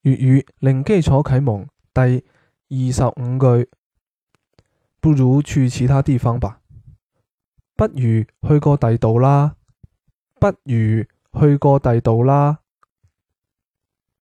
粵語零基礎啟蒙第25句，不如去其他地方吧。不如去過第度啦。不如去過第度啦。